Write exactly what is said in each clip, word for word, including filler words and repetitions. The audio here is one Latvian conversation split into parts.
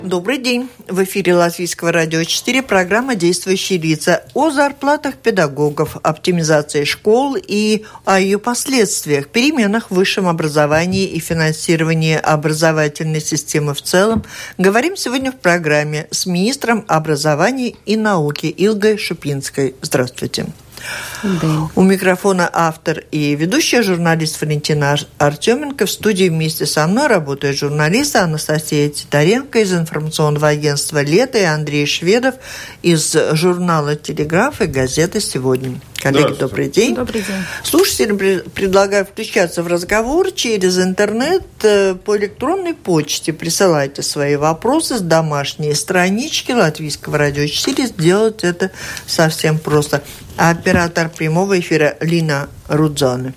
Добрый день. В эфире Латвийского радио четыре программа «Действующие лица» о зарплатах педагогов, оптимизации школ и о ее последствиях, переменах в высшем образовании и финансировании образовательной системы в целом. Говорим сегодня в программе с министром образования и науки Илгой Шупинской. Здравствуйте. Да. У микрофона автор и ведущая журналист Валентина Артеменко. В студии вместе со мной работают журналисты Анастасия Титаренко из информационного агентства «Лето» и Андрей Шведов из журнала «Телеграф» и газеты «Сегодня». Коллеги, добрый день. Добрый день. Слушателям предлагаю включаться в разговор через интернет. По электронной почте присылайте свои вопросы с домашней странички Латвийского радио четыре. Сделать это совсем просто. Оператор прямого эфира Лина Рудзоне.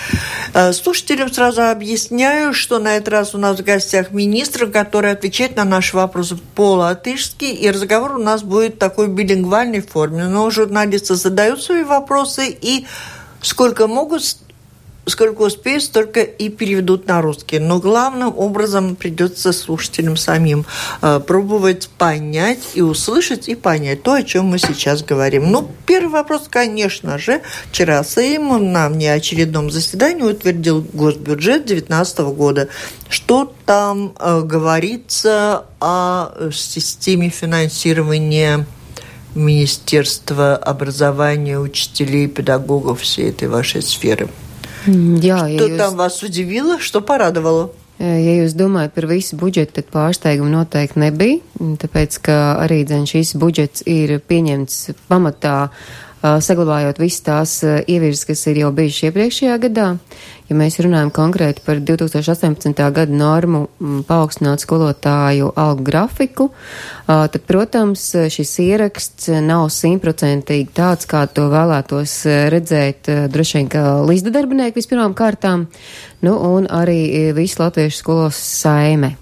Слушателям сразу объясняю, что на этот раз у нас в гостях министр, который отвечает на наши вопросы по-латышски, и разговор у нас будет в такой билингвальной форме. Но журналисты задают свои вопросы, и сколько могут, сколько успеют, столько и переведут на русский. Но главным образом придется слушателям самим э, пробовать понять и услышать, и понять то, о чем мы сейчас говорим. Ну, первый вопрос, конечно же. Вчера Сейм на внеочередном заседании утвердил госбюджет две тысячи девятнадцатого года. Что там э, говорится о системе финансирования Министерства образования, учителей, педагогов, всей этой вашей сферы? Jā, Что ja там jūs, вас удивило, что порадовало? Ja jūs domājat par visu budžetu, tad pārsteigumu noteikti nebija, tāpēc, ka arī dzen šis budžets ir pieņemts pamatā, saglabājot visas tās ievirzes, kas ir jau bijušas iepriekšējā gadā. Ja mēs runājam konkrēti par divi tūkstoši astoņpadsmitā gada normu paaugstināt skolotāju algu grafiku, tad, protams, šis ieraksts nav simtprocentīgi tāds, kā to vēlētos redzēt droši vien, ka līdzda darbinieki vispirmām kārtām, nu, un arī visu latviešu skolas saime.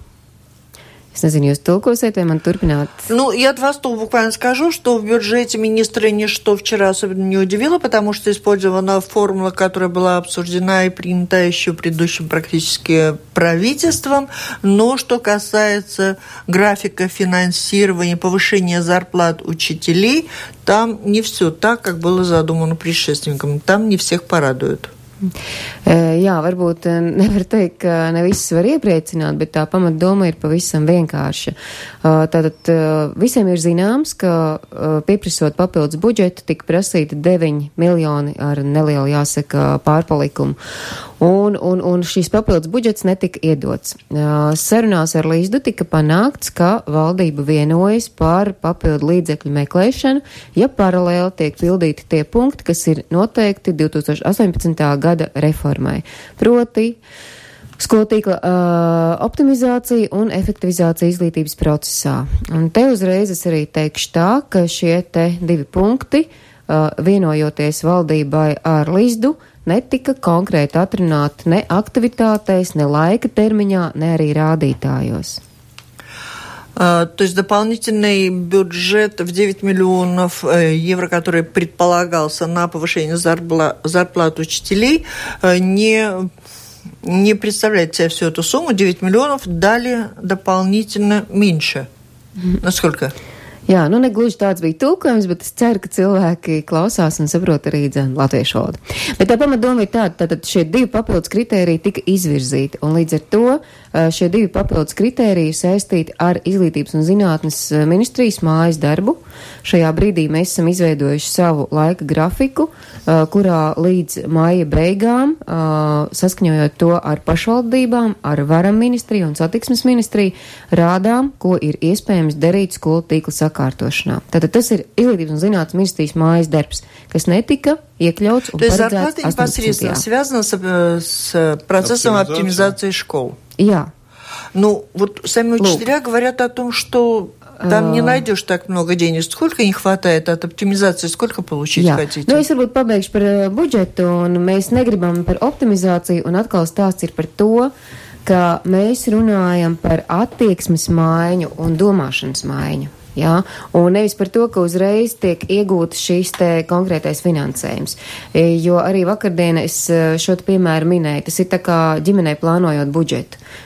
Es nezinu, jūs tulkosiet, vai man turpināt? Ну, я от вас то буквально скажу, что в бюджете министра ничто вчера особенно не удивило, потому что использована формула, которая была обсуждена и принята еще предыдущим практически правительством. Но что касается графика финансирования, повышения зарплат учителей, там не все так, как было задумано предшественником. Там не всех порадует. Jā, varbūt nevar teikt, ka ne viss var iepriecināt, bet tā pamatdoma ir pavisam vienkārša. Tātad visiem ir zināms, ka pieprasot papildus budžetu tika prasīti deviņi miljoni ar nelielu, jāsaka, pārpalikumu. Un, un, un šīs papildus budžets netika iedots. Sarunās ar Līsdu tika panākts, ka valdība vienojas par papildu līdzekļu meklēšanu, ja paralēli tiek pildīti tie punkti, kas ir noteikti divi tūkstoši astoņpadsmitā gada reformai. Proti, skolotīkla uh, optimizācija un efektivizācija izglītības procesā. Un te uzreiz es arī teikšu tā, ka šie te divi punkti, uh, vienojoties valdībai ar Līsdu, netika konkrēti atrunāti ne aktivitātēs, ne laika termiņā, ne arī рādītājos. А, то есть дополнительный бюджет в девять миллионов евро, который предполагался на повышение зарплат, зарплат учителей, не, не представляет себе всю эту сумму. девять миллионов дали дополнительно меньше. Насколько? Jā, nu negluži tāds bija tulkojums, bet es ceru, ka cilvēki klausās un saprot arī dzēn latviešu valodu. Bet tā pamatdoma ir tāda, tātad šie divi papildus kritēriji tika izvirzīti, un līdz ar to šie divi papildus kritēriji saistīti ar Izglītības un zinātnes ministrijas mājas darbu. Šajā brīdī mēs esam izveidojuši savu laika grafiku, kurā līdz māja beigām, saskaņojot to ar pašvaldībām, ar varam ministriju un satiksmes ministriju, rādām, ko ir iespējams darīt skolu tīkla sakārtošanā. Tātad tas ir Izglītības un zinātnes ministrijas mājas darbs, kas неtika ieķļauts un То есть paredzēts зарплата непосредственно связана с, с процессом оптимизации школ? Jā. Ну, вот сами учителя Лук. говорят о том, что там не найдешь так много денег. Сколько не хватает от оптимизации, сколько получить Jā. хотите? Nu, es varbūt pabeigšu par budžetu, un mēs negribam par optimizāciju, un atkal stāsts ir par to, ka mēs runājam par attieksmes maiņu un domāšanas maiņu. Jā, un nevis par to, ka uzreiz tiek iegūts šīs te konkrētais finansējums. Jo arī vakardien es šo te piemēru minēju, tas ir tā kā ģimenei plānojot budžetu.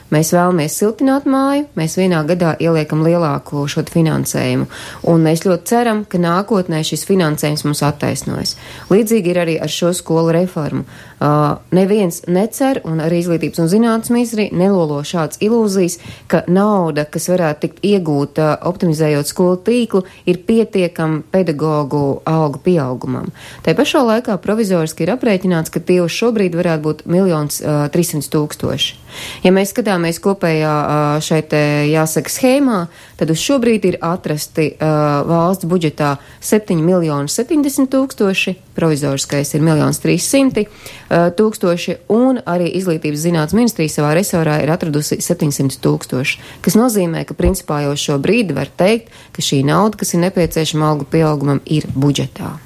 mēs vēlamies siltināt māju, mēs vienā gadā ieliekam lielāku šo finansējumu, un mēs ļoti ceram, ka nākotnē šis finansējums mums attaisnojas. Līdzīgi ir arī ar šo skolu reformu. Uh, neviens necer, un arī Izglītības un zinātnes ministri nelolo šāds ilūzijas, ka nauda, kas varētu tikt iegūta optimizējot skolu tīklu, ir pietiekama pedagogu algu pieaugumam. Tā pašā laikā provizoriski ir aprēķināts, ka tie uz šobrīd varētu būt miljons uh, trīssimts tūkstoši. Ja mēs skatāmies kopējā uh, šeit, jāsaka, schēmā, tad uz šobrīd ir atrasti uh, valsts budžetā septiņi miljoni septiņdesmit tūkstoši, provizoriskais ir miljons trīssimti tūkstoši, un arī Izglītības zinātnes ministrija savā resorā ir atradusi septiņsimt tūkstoši, kas nozīmē, ka principā jau šo brīdi var teikt, ka šī nauda, kas ir nepieciešama algu pieaugumam, ir budžetā.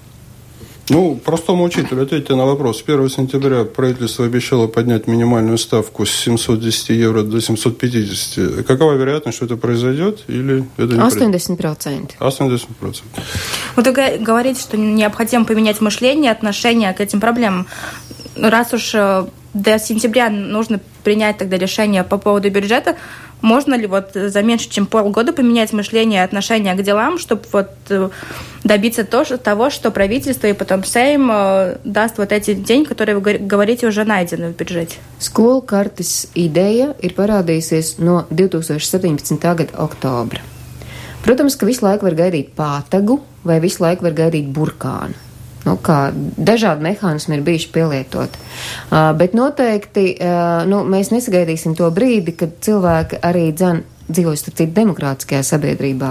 Ну, простому учителю ответьте на вопрос. первого сентября правительство обещало поднять минимальную ставку с семьсот десять евро до семьсот пятьдесят. Какова вероятность, что это произойдет? Или это не восемьдесят процентов. восемьдесят процентов. Вот вы говорите, что необходимо поменять мышление, отношение к этим проблемам. Раз уж до сентября нужно принять тогда решение по поводу бюджета, можно ли вот за меньше, чем полгода поменять мышление и отношение к делам, чтобы вот добиться того, что правительство и потом Сейм даст вот эти деньги, которые вы говорите уже найдены в бюджете? Skolu kartes ideja ir parādījusies no divi tūkstoši septiņpadsmitā gada oktobra. Protams, ka visu laiku var gaidīt pātagu vai visu laiku var gaidīt burkānu. Nu, kā dažādi mehānismi ir bijuši pielietoti. Uh, bet noteikti uh, nu, mēs nesagaidīsim to brīdi, kad cilvēki arī dzen dzīvos starp citu demokrātiskajā sabiedrībā.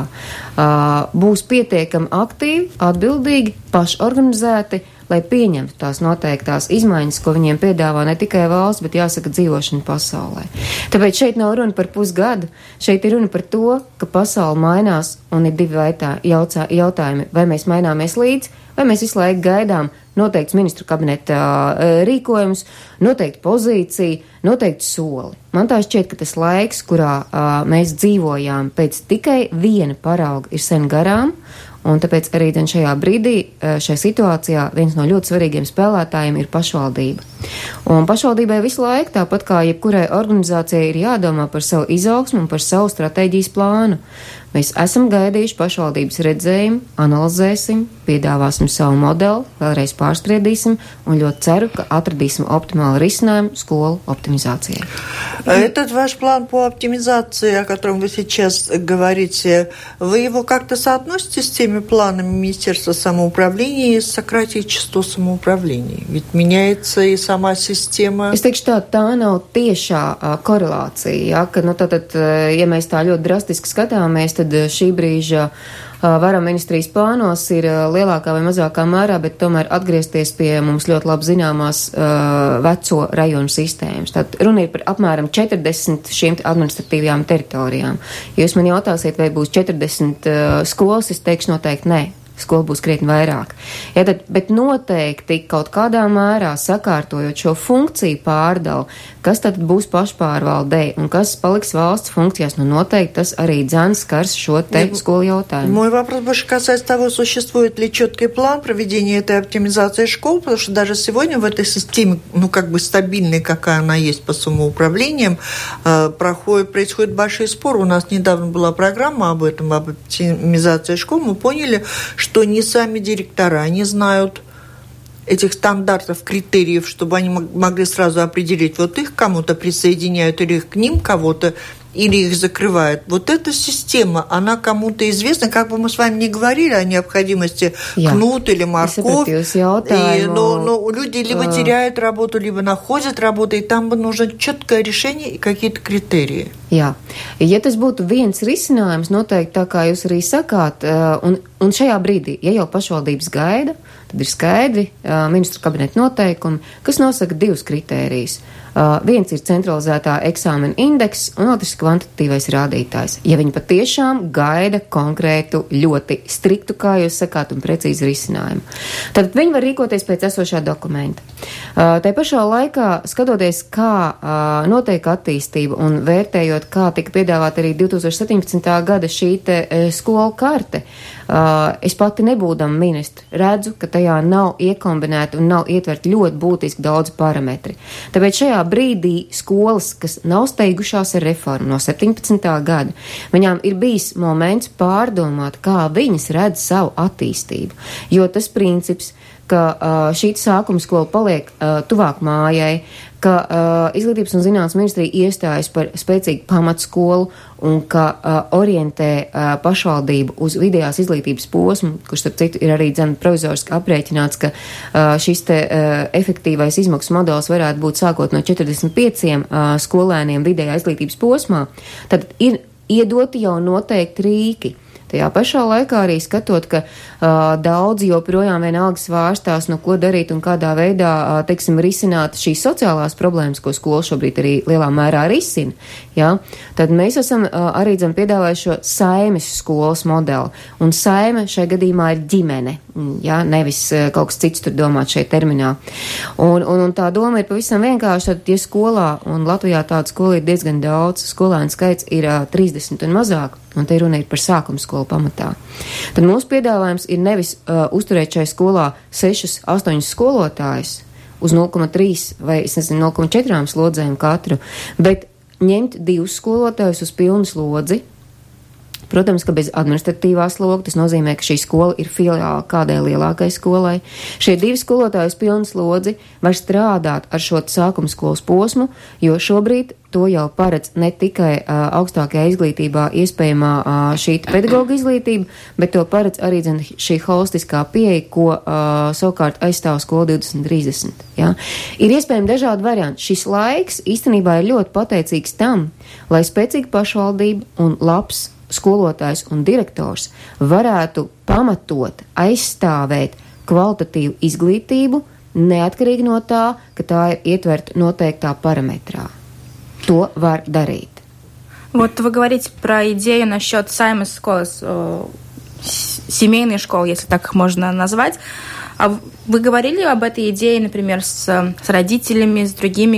Uh, būs pietiekami aktīvi, atbildīgi, pašorganizēti, lai pieņemtu tās noteiktās izmaiņas, ko viņiem piedāvā ne tikai valsts, bet jāsaka dzīvošana pasaulē. Tāpēc šeit nav runa par pusgadu, šeit ir runa par to, ka pasaule mainās un ir divi vaitā, jautā, jautājumi, vai mēs maināmies līdzi, vai mēs visu laiku gaidām noteikts ministru kabineta uh, rīkojums, noteikti pozīciju, noteikti soli. Man tā šķiet, ka tas laiks, kurā uh, mēs dzīvojām pēc tikai viena parauga, ir sen garām, un tāpēc arī šajā brīdī, šajā situācijā, viens no ļoti svarīgiem spēlētājiem ir pašvaldība. Un pašvaldībai visu laiku, tāpat kā jebkurai organizācijai, ir jādomā par savu izaugsmu un par savu stratēģijas plānu. Mēs esam gaidījuši pašvaldības redzējumu, analizēsim, piedāvāsim savu modeli, vēlreiz pārspriedīsim un ļoti ceru, ka atradīsim optimālu risinājumu skolu оптимизации. Этот ваш план по оптимизации, о котором вы сейчас говорите, вы его как-то соотносите с теми планами Министерства самоуправления и сократить число самоуправлений? Ведь меняется и сама система. Es teikšu tā, tā nav tiešā uh, korelācija, ja, ka, nu, tātad, uh, ja mēs tā ļoti drastiski skatāmies, tad uh, šī brīža uh, vara ministrijas plānos ir uh, lielākā vai mazākā mērā, bet tomēr atgriezties pie mums ļoti labi zināmās uh, veco rajonu sistēmas. Tad runa ir par apmēram četrdesmit šīm administratīvajām teritorijām. Ja jūs man jautāsiet, vai būs četrdesmit uh, skolas, es teikšu noteikti nē. Skola būs krietni vairāk. Ja, tad, bet noteikti kaut kādā mērā sakārtojot šo funkciju pārdalu, kas tad būs pašpārvaldei un kas paliks valsts funkcijās, nu noteikti tas arī dzēns skars šo te Нет, skolu jautājumu. Мой вопрос больше касается того, существует ли четкий план проведения этой оптимизации школ, потому что даже сегодня в этой системе, ну как бы стабильной, какая она есть по самоуправлениям, э, проходит, происходит большой спор. У нас недавно была программа об этом, об оптимизации школ. Мы поняли, что не сами директора не знают этих стандартов, критериев, чтобы они могли сразу определить, вот их кому-то присоединяют или их к ним кого-то, или их закрывают. Вот эта система, она кому-то известна, как бы мы с вами не говорили о необходимости Jā. кнут или морковь, и, но, но люди либо теряют работу, либо находят работу, и там бы нужно четкое решение и какие-то критерии. Jā, ja tas būtu viens risinājums, noteikti tā kā jūs arī sakāt, un, un šajā brīdī, ja jau pašvaldības gaida, tad ir skaidri uh, ministru kabineta noteikumi, kas nosaka divus kritērijus. Uh, viens ir centralizētā eksāmena indeks, un otrs ir kvantitatīvais rādītājs. Ja viņi patiešām gaida konkrētu, ļoti striktu, kā jūs sakāt, un precīzi risinājumu, tad viņi var rīkoties pēc esošā dokumenta. Uh, tai pašā laikā, skatoties, kā uh, notiek attīstība un vērtējot, kā tika piedāvāt arī divi tūkstoši septiņpadsmitā gada šī te uh, skolu karte, uh, es pati nebūdama ministra redzu, ka tajā nav iekombinēta un nav ietverti ļoti būtiski daudz parametri. Tāpēc šajā brīdī skolas, kas nav steigušās ar reformu no septiņpadsmitā gada, viņām ir bijis moments pārdomāt, kā viņas redz savu attīstību. Jo tas princips, ka uh, šī sākuma skola paliek uh, tuvāk mājai, ka uh, Izglītības un zinātnes ministrija iestājas par spēcīgu pamatskolu un ka uh, orientē uh, pašvaldību uz vidējās izglītības posmu, kurš, starp citu, ir arī dzen provizoriski aprēķināts, ka uh, šis te uh, efektīvais izmaksu modelis varētu būt sākot no četrdesmit pieciem uh, skolēniem vidējā izglītības posmā, tad ir iedoti jau noteikti rīki. Tajā pašā laikā arī skatot, ka uh, daudzi joprojām vienalga svārstās, no ko darīt un kādā veidā, uh, teiksim, risināt šīs sociālās problēmas, ko skola šobrīd arī lielā mērā risina, jā, tad mēs esam uh, arī dzem piedāvājuši šo saimes skolas modeli. Un saime šai gadījumā ir ģimene, jā, nevis uh, kaut kas cits tur domāt šeit terminā. Un, un, un tā doma ir pavisam vienkārši, tad, ja skolā, un Latvijā tāda skola ir diezgan daudz, skolēnu skaits ir uh, trīsdesmit un mazāk, un te runa ir par sākuma skolu pamatā. Tad mūsu piedāvājums ir nevis uh, uzturēt šai skolā sešus, astoņus skolotājus uz nulle komats trīs vai, es nezinu, nulle komats četri slodzēm katru, bet ņemt divus skolotājus uz pilnu slodzi. Protams, ka bez administratīvā sloga, tas nozīmē, ka šī skola ir filiāla kādai lielākai skolai. Šie divi skolotāji uz pilnu slodzi var strādāt ar šo sākuma skolas posmu, jo šobrīd to jau paredz ne tikai uh, augstākajā izglītībā iespējamā uh, šī pedagoga izglītība, bet to paredz arī dzen, šī holistiskā pieeja, ko uh, savukārt aizstāv skola divdesmit trīsdesmit. Ja? Ir iespējami dažādi varianti. Šis laiks īstenībā ir ļoti pateicīgs tam, lai spēcīga pašvaldība un labs skolotājs un direktors varētu pamatot, aizstāvēt kvalitatīvu izglītību, neatkarīgi no tā, ka tā ir ietverta noteiktā parametrā. То var дарить. Вот вы говорите про идею насчет саймес школы, семейной школы, если так их можно назвать. А вы говорили об этой идее, например, с, с родителями, с другими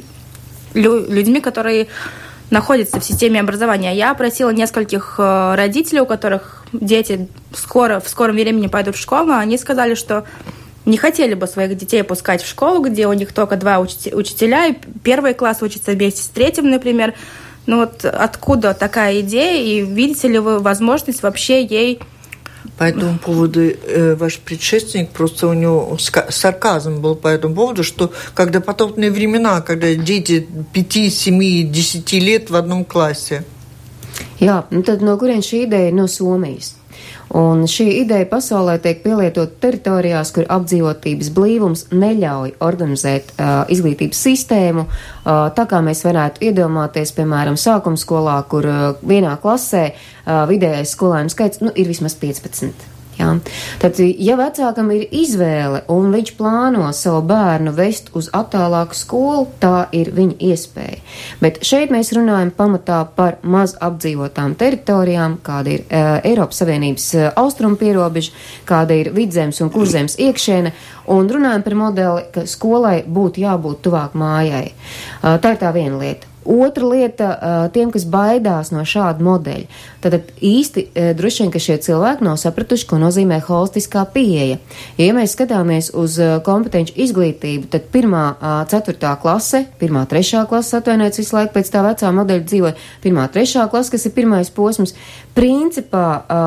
людьми, которые находятся в системе образования? Я опросила нескольких родителей, у которых дети скоро, в скором времени пойдут в школу. Они сказали, что не хотели бы своих детей пускать в школу, где у них только два учителя, и первый класс учится вместе с третьим, например. Ну вот откуда такая идея, и видите ли вы возможность вообще ей... По этому поводу э, ваш предшественник, просто у него сарказм был по этому поводу, что когда потопные времена, когда дети пяти, семи, десяти лет в одном классе. Jā, nu tad no kurien šī ideja no Somijas? Un šī ideja pasaulē tiek pielietot teritorijās, kur apdzīvotības blīvums neļauj organizēt uh, izglītības sistēmu, uh, tā kā mēs varētu iedomāties, piemēram, sākuma skolā, kur uh, vienā klasē uh, vidējais skolēnu skaits nu, ir vismaz piecpadsmit. Jā. Tad, ja vecākam ir izvēle un viņš plāno savu bērnu vest uz attālāku skolu, tā ir viņa iespēja. Bet šeit mēs runājam pamatā par maz apdzīvotām teritorijām, kāda ir uh, Eiropas Savienības uh, austrumu pierobeža, kāda ir Vidzemes un Kurzemes iekšēne, un runājam par modeli, ka skolai būtu jābūt tuvāk mājai. Uh, tā ir tā viena lieta. Otra lieta, tiem, kas baidās no šāda modeļa, tad īsti droši vien, ka šie cilvēki nav sapratuši, ko nozīmē holistiskā pieeja. Ja mēs skatāmies uz kompetenci izglītību, tad pirmā, ceturtā klase, pirmā, trešā klase, atvainojiet visu laiku pēc tā vecā modeļa dzīvoja, pirmā, trešā klase, kas ir pirmais posms, principā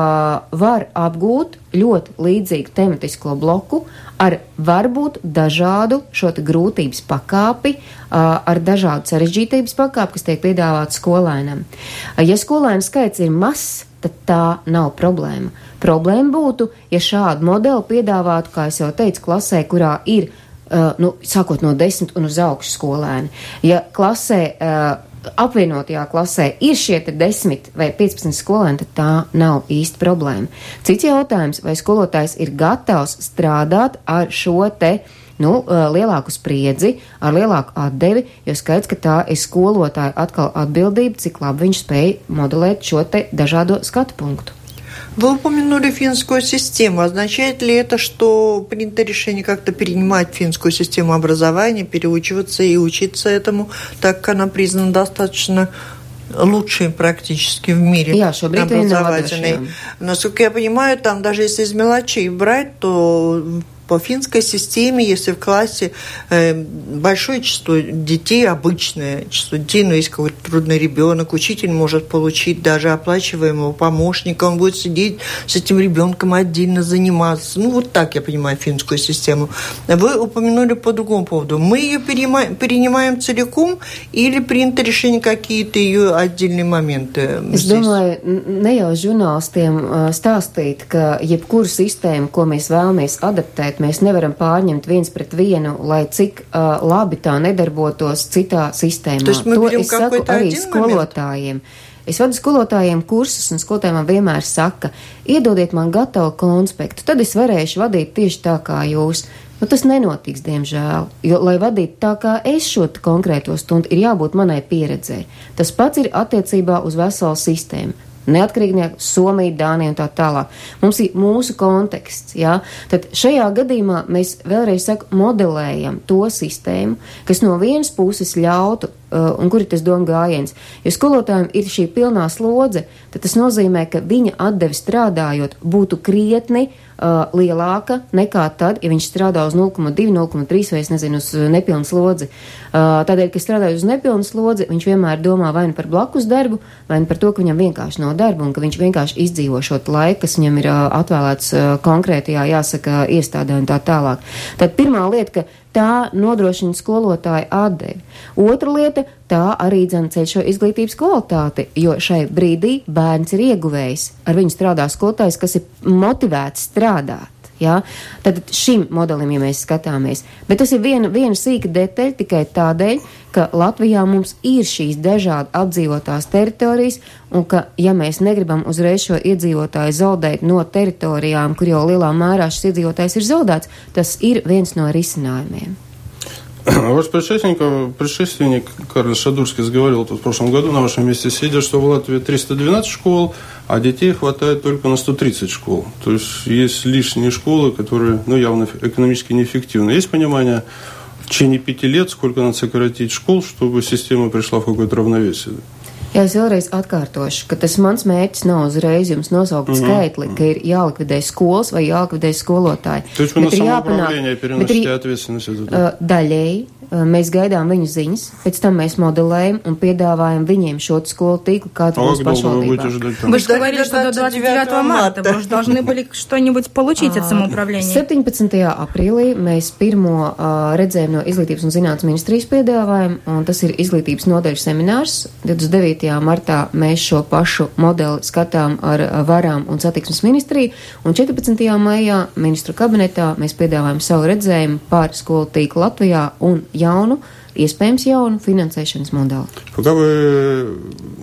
var apgūt ļoti līdzīgu tematisko bloku ar varbūt dažādu šo te grūtības pakāpi, ar dažādu sarežģītības pakāpi, kas tiek piedāvāts skolēnam. Ja skolēnu skaits ir mazs, tad tā nav problēma. Problēma būtu, ja šādu modeli piedāvātu, kā es jau teicu, klasē, kurā ir, nu, sākot no desmit un uz augšu skolēni. Ja klasē apvienotajā klasē ir šie te desmit vai piecpadsmit skolēni, tad tā nav īsti problēma. Cits jautājums, vai skolotājs ir gatavs strādāt ar šo te, nu, lielāku spriedzi, ar lielāku atdevi, jo skaidrs, ka tā ir skolotāja atkal atbildība, cik labi viņš spēj modelēt šo te dažādo skatu punktu. Вы упомянули финскую систему. Означает ли это, что принято решение как-то перенимать финскую систему образования, переучиваться и учиться этому, так как она признана достаточно лучшей практически в мире Jā, образовательной? Насколько я понимаю, там даже если из мелочей брать, то По финской системе, если в классе э, большое число детей, обычное число детей, но есть какой-то трудный ребенок, учитель может получить даже оплачиваемого помощника, он будет сидеть с этим ребенком отдельно заниматься. Ну, вот так я понимаю финскую систему. Вы упомянули по другому поводу. Мы ее перенимаем, перенимаем целиком или принято решение какие-то ее отдельные моменты? Es domāju, ne jau žurnālistiem stāstīt, ka jebkuru sistēmu, ko mēs vēlamies adaptēt, mēs nevaram pārņemt viens pret vienu, lai cik uh, labi tā nedarbotos citā sistēmā. To es saku arī skolotājiem. Es vadu skolotājiem kursus, un skolotājiem man vienmēr saka, iedodiet man gatavu konspektu, tad es varēšu vadīt tieši tā kā jūs. Nu, tas nenotiks, diemžēl, jo, lai vadītu tā kā es šo konkrēto stundu, ir jābūt manai pieredzēji. Tas pats ir attiecībā uz veselu sistēmu. Neatkarīgi Somija, Dānija un tā tālāk. Mums ir mūsu konteksts, jā. Tad šajā gadījumā mēs vēlreiz saku, modelējam to sistēmu, kas no vienas puses ļautu, uh, un kur ir tas doma gājiens. Jo skolotājiem ir šī pilnā slodze, tad tas nozīmē, ka viņa atdevi strādājot būtu krietni uh, lielāka nekā tad, ja viņš strādā uz nulle komats divi, nulle komats trīs vai, es nezinu, uz nepilnu slodzi. Uh, tādēļ, ka strādājot uz nepilnu slodzi, viņš vienmēr domā vai nu par blakus darbu, vai nu par to, ka viņam vienkārši nav darba un ka viņš vienkārši izdzīvo šo laiku, kas viņam ir uh, atvēlēts uh, konkrētajā, jāsaka, iestādē un tā tālāk. Tad pirmā lieta, ka tā nodrošina skolotāju atdevi. Otra lieta, tā arī dzen ceļ šo izglītības kvalitāti, jo šai brīdī bērns ir ieguvējis. Ar viņu strādā skolotājs, kas ir motivēts strādāt. Ja? Tad šim modelim, ja mēs skatāmies. Bet tas ir viena, viena sīka detaļa tikai tādēļ, ka Latvijā mums ir šīs dažādi apdzīvotās teritorijas, un ka, ja mēs negribam uzreiz šo iedzīvotāju zaudēt no teritorijām, kur jau lielā mērā šis iedzīvotājs ir zaudēts, tas ir viens no risinājumiem. Ваш предшественник, предшественник Карл Шадурский говорил тут в прошлом году на вашем месте сидя, что в Латвии триста двенадцать школ, а детей хватает только на сто тридцать школ. То есть есть лишние школы, которые ну, явно экономически неэффективны. Есть понимание в течение пяти лет, сколько надо сократить школ, чтобы система пришла в какое-то равновесие? Jā, es vēlreiz atkārtošu, ka tas mans mērķis nav uzreiz jums nosaukt mm-hmm. skaitli, ka ir jālikvidē skolas vai jālikvidē skolotāji. Taču man samoupravlение переносите ответственность за это. Daļēji mēs gaidām viņu ziņas, pēc там mēs моделēем un piedāvājam viņiem šo skolu tīklu, kāds būs pašvaldībā. Вы же говорили, что до двадцать девятого марта вы же должны были что-нибудь получить от самоуправления. septiņpadsmitajā aprīlī mēs pirmo uh, redzējumu no Izglītības un zinātnes ministrijas piedāvājam, un tas ir izglītības nodaļu seminārs. divdesmit devītajā martā mēs šo pašu modeli skatām ar varām un satiksmes ministriju, un četrpadsmitajā maijā ministru kabinetā mēs piedāvājam savu redzējumu par skolu tīklu Latvijā un jaunu, iespējams jaunu finansēšanas modeli. Пока вы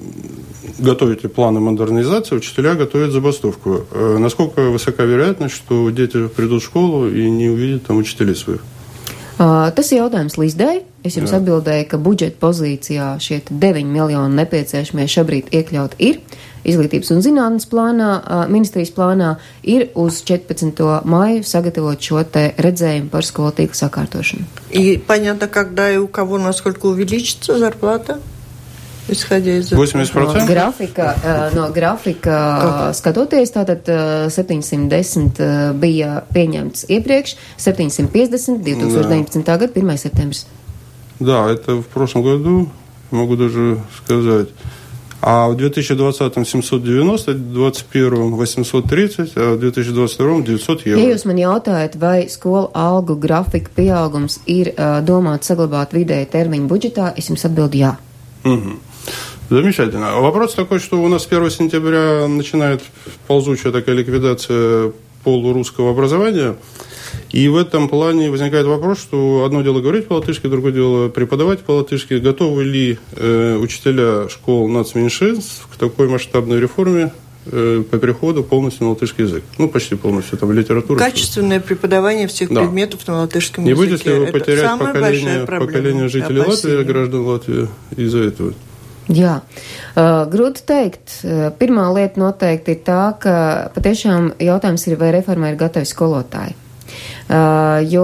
готовите планы модернизации, учителя готовят забастовку. Насколько высока вероятность, что дети придут в школу и не увидят там учителей своих? Uh, tas ir jautājums Līzdai. Es jums Jā. atbildēju, ka budžeta pozīcijā šie deviņi miljoni nepieciešamie šobrīd iekļaut ir. Izglītības un zinātnes plānā, uh, ministrijas plānā ir uz četrpadsmito maiju sagatavot šo te redzējumu par skolu tīklu sakārtošanu. И понятно, когда и у кого насколько увеличится зарплата? Исходя из восемьдесят процентов? No grafika, no grafika skatoties, tātad septiņsimt desmit bija pieņemts iepriekš, septiņsimt piecdesmit две тысячи девятнадцатого gada pirmais septembris. Да, это в прошлом году, могу даже сказать. А в две тысячи двадцатом семьсот девяносто, в две тысячи двадцать первом восемьсот тридцать, а в две тысячи двадцать втором девятьсот евро. Ja jūs man jautājat, vai skolu algu grafika pieaugums ir uh, domāts saglabāt vidēja termiņa budžetā, es jums atbildu jā. Угу. Замечательно. Вопрос такой, что у нас с первого сентября начинает ползучая такая ликвидация полурусского образования. И в этом плане возникает вопрос, что одно дело говорить по-латышски, другое дело преподавать по-латышски. Готовы ли э, учителя школ нацменьшинств к такой масштабной реформе э, по переходу полностью на латышский язык? Ну, почти полностью, там, литература. Качественное преподавание всех да. предметов на латышском Не языке. Не будете ли вы потерять поколение, поколение жителей Латвии, граждан Латвии из-за этого? Jā, uh, grūti teikt. Uh, pirmā lieta noteikti ir tā, ka patiešām jautājums ir, vai reformai ir gatavi skolotāji. Uh, jo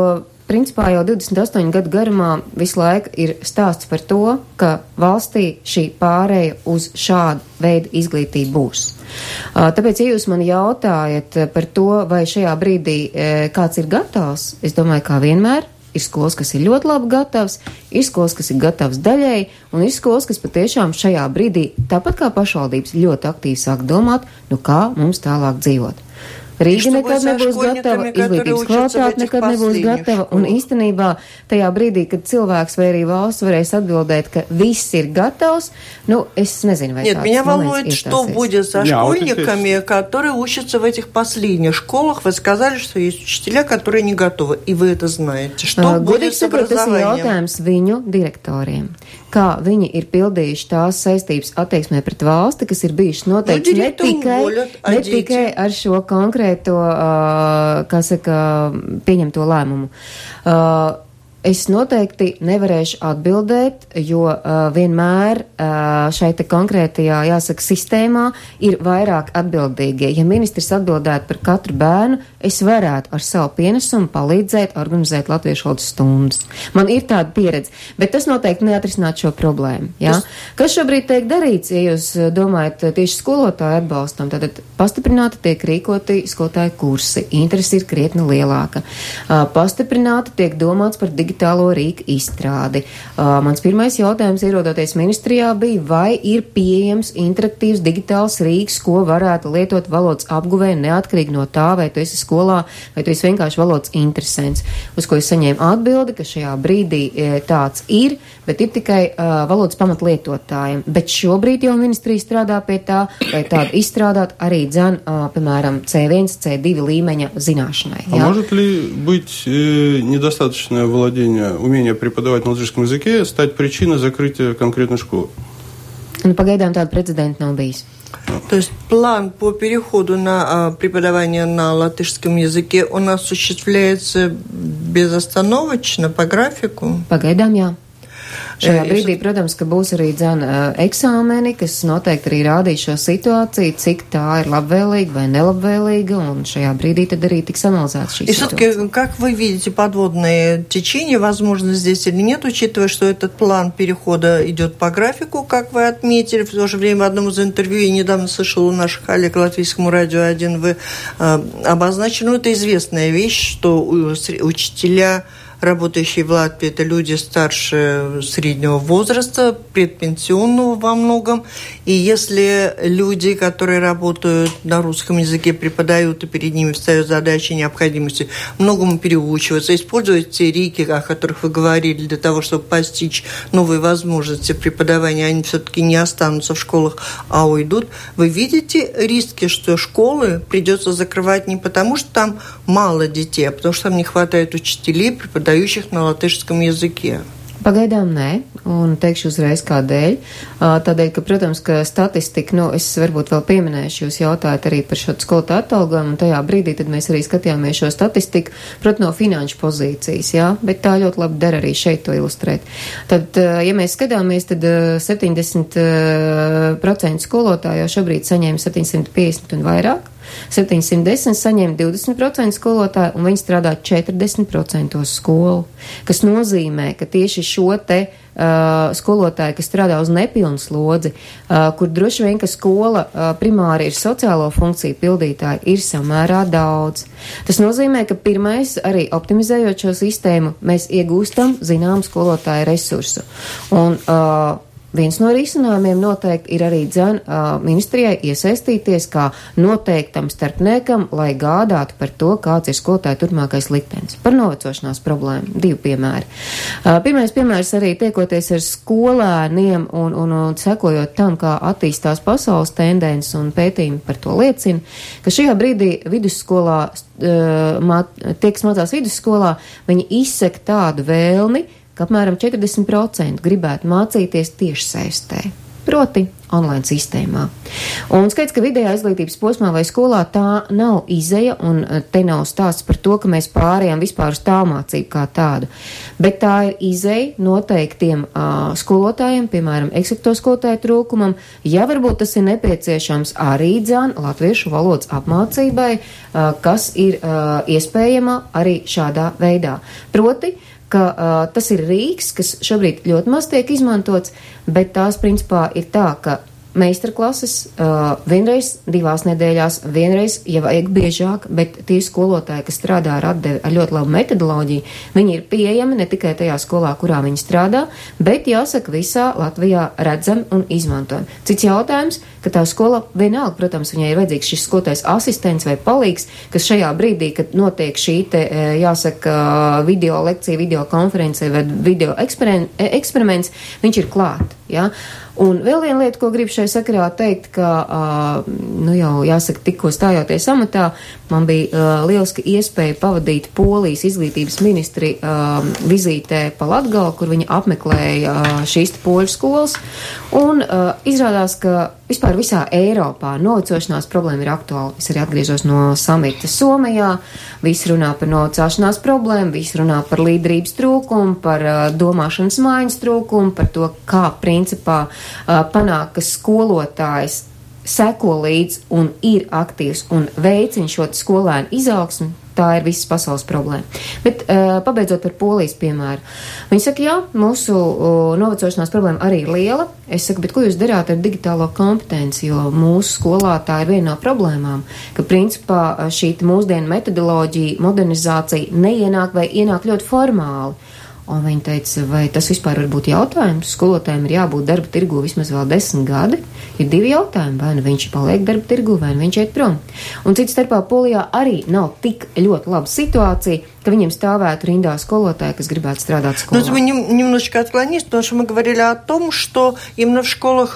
principā jau divdesmit astoņu gadu garumā visu laiku ir stāsts par to, ka valstī šī pārēja uz šādu veidu izglītību būs. Tāpēc, ja jūs mani jautājat par to, vai šajā brīdī kāds ir gatavs, es domāju, kā vienmēr, ir skolas, kas ir ļoti labi gatavs, ir skolas, kas ir gatavs daļēji, un ir skolas, kas patiešām šajā brīdī, tāpat kā pašvaldības, ļoti aktīvi sāk domāt, nu kā mums tālāk dzīvot. Rīga nekad nebūs gatava, izglītības kvalitāte nekad nebūs gatava, un īstenībā tajā brīdī, kad cilvēks vai arī valsts varēs atbildēt, ka viss ir gatavs, ну, es nezinu, vai Нет, tāds меня moments волнует, iestāsies. что будет со Jā, школьниками, которые учатся в этих последних школах. Вы сказали, что есть учителя, которые не готовы, и вы это знаете. Что будет с sakot, tas ir образованием? jautājums viņu direktoriem. Kā viņi ir pildījuši tās saistības attieksmē pret valsti, kas ir bijušas noteikti Nu, ne direktori tikai, voļat, a ne дети? tikai ar šo konkrēto, uh, kā saka, pieņemto lēmumu. Uh, Es noteikti nevarēšu atbildēt, jo uh, vienmēr uh, šai te konkrētajā, jāsaka, sistēmā ir vairāk atbildīgie. Ja ministrs atbildētu par katru bērnu, es varētu ar savu pienesumu palīdzēt organizēt latviešu valodas stundas. Man ir tāda pieredze, bet tas noteikti neatrisināt šo problēmu. Ja? Tas... Kas šobrīd tiek darīts, ja jūs domājat tieši skolotāju atbalstam, tad pastiprināti tiek rīkoti skolotāju kursi, interesi ir krietni lielāka. Uh, pastiprināti tiek domāts par digitālu digitālo rīku izstrādi. Uh, mans pirmais jautājums, ierodoties ministrijā, bija, vai ir pieejams interaktīvs digitāls rīks, ko varētu lietot valodas apguvē, neatkarīgi no tā, vai tu esi skolā, vai tu esi vienkārši valodas interesants. Uz ko es saņēmu atbildi, ka šajā brīdī e, tāds ir, bet ir tikai uh, valodas pamatlietotājiem. Bet šobrīd jau ministrija strādā pie tā, lai tādu izstrādāt arī dzen, uh, piemēram, C viens, C divi līmeņa zināšanai. А может ли быть э, недостаточное владение, умение преподавать на латышском языке стать причиной закрытия конкретной школы? Nu, pagaidām tāda precedenta nav bijis. То есть план по переходу на а, преподавание на латышском языке у нас осуществляется безостановочно по графику? Pagaidām jā. Šajā brīdī, protams, ka būs arī dzēna eksāmeni, kas noteikti arī rādīs šo situāciju, cik tā ir labvēlīga vai nelabvēlīga, un šajā brīdī tad arī tiks analizēts šī И situācija. все-таки, как вы видите подводное течение, возможно, здесь или нет, учитывая, что этот план перехода идет по графику, как вы отметили, в то же время в одном из интервью, я недавно слышала у наших коллег Латвийскому радио один, вы э, обозначили, ну, это известная вещь, что учителя, работающие в Латвии, это люди старше среднего возраста, предпенсионного во многом. И если люди, которые работают на русском языке, преподают, и перед ними встает задача необходимости многому переучиваться, использовать те рики, о которых вы говорили, для того, чтобы постичь новые возможности преподавания, они все-таки не останутся в школах, а уйдут. Вы видите риски, что школы придется закрывать не потому, что там мало детей, а потому что там не хватает учителей, преподающих на латышском языке? Pagaidām nē, un teikšu uzreiz kādēļ. Tādēļ, ka, protams, ka statistika, nu, es varbūt vēl pieminēšu, jūs jautājat arī par šo skolotāju atalgojumu, un tajā brīdī tad mēs arī skatījāmies šo statistiku, protams, no finanšu pozīcijas, jā, bet tā ļoti labi der arī šeit to ilustrēt. Tad, ja mēs skatāmies, tad septiņdesmit procenti skolotāju jau šobrīd saņēma septiņsimt piecdesmit un vairāk. septiņsimt desmit saņem divdesmit procenti skolotāju, un viņi strādā četrdesmit procenti skolu, kas nozīmē, ka tieši šo te uh, skolotāju, kas strādā uz nepilnu slodzi, uh, kur droši vien, ka skola uh, primāri ir sociālo funkciju pildītāji, ir samērā daudz. Tas nozīmē, ka pirmais, arī optimizējot šo sistēmu, mēs iegūstam zinām skolotāju resursu. Un, uh, Viens no risinājumiem noteikti ir arī dzen uh, ministrijai iesaistīties kā noteiktam starpniekam, lai gādātu par to, kāds ir skolotāju turpmākais liktenis. Par novecošanās problēmu. Divi piemēri. Uh, pirmais piemērs arī tiekoties ar skolēniem un, un, un sekojot tam, kā attīstās pasaules tendences un pētījumi par to liecina, ka šajā brīdī vidusskolā, uh, māt, tie, kas mācās vidusskolā, viņi izsaka tādu vēlmi, ka apmēram četrdesmit procenti gribētu mācīties tiešsaistē. proti online sistēmā. Un skaidrs, ka vidējā izglītības posmā vai skolā tā nav izeja, un te nav stāsts par to, ka mēs pārējām vispār uz tālmācību kā tādu. Bet tā ir izeja noteiktiem uh, skolotājiem, piemēram, eksakto skolotāju trūkumam, ja varbūt tas ir nepieciešams arī dzan latviešu valodas apmācībai, uh, kas ir uh, iespējama arī šādā veidā. Proti, ka uh, tas ir rīks, kas šobrīd ļoti maz tiek izmantots, bet tās principā ir tā, ka meistarklases uh, vienreiz divās nedēļās, vienreiz, ja vajag biežāk, bet tie skolotāji, kas strādā ar atdevi ar ļoti labu metodoloģiju, viņi ir pieejami ne tikai tajā skolā, kurā viņi strādā, bet jāsaka visā Latvijā redzam un izmantojam. Cits jautājums, ka tā skola vienalga, protams, viņai ir vajadzīgs šis skolotājs asistents vai palīgs, kas šajā brīdī, kad notiek šī te, jāsaka, video lekcija, video konference vai video eksperiments, viņš ir klāt, jā. Un vēl viena lieta, ko gribu šai sakarā teikt, ka, uh, nu jau jāsaka, tikko stājoties amatā, man bija uh, lieliska iespēja pavadīt Polijas izglītības ministri uh, vizītē pa Latgali, kur viņi apmeklēja uh, šīs poļu skolas, un uh, izrādās, ka vispār visā Eiropā novecošanās problēma ir aktuāla. Es arī atgriežos no samita Somijā, visi runā par novecāšanās problēmu, visi runā par līderības trūkumu, par uh, domāšanas mājas trūkumu, par to, kā principā uh, panāk, ka skolotājs seko līdz un ir aktīvs un veicina šo skolēnu izaugsmu. Tā ir visas pasaules problēma. Bet uh, pabeidzot par Polijas piemēru. Viņi saka, jā, mūsu uh, novecošanās problēma arī ir liela. Es saku, bet ko jūs darāt ar digitālo kompetenci, jo mūsu skolā tā ir viena no problēmām, ka principā šī mūsdienu metodoloģija, modernizācija neienāk vai ienāk ļoti formāli. Un viņi teica, vai tas vispār var būt jautājums? Skolotājiem ir jābūt darba tirgu vismaz vēl desmit gadi. Ir divi jautājumi, vai nu viņš paliek darba tirgu, vai nu viņš iet prom. Un cits starpā Polijā arī nav tik ļoti laba situācija, ka viņiem stāvētu rindā skolotāji, kas grибētu strādāt skolā. Ну, мы немножечко отклонились, потому что мы говорили о том, что именно в школах,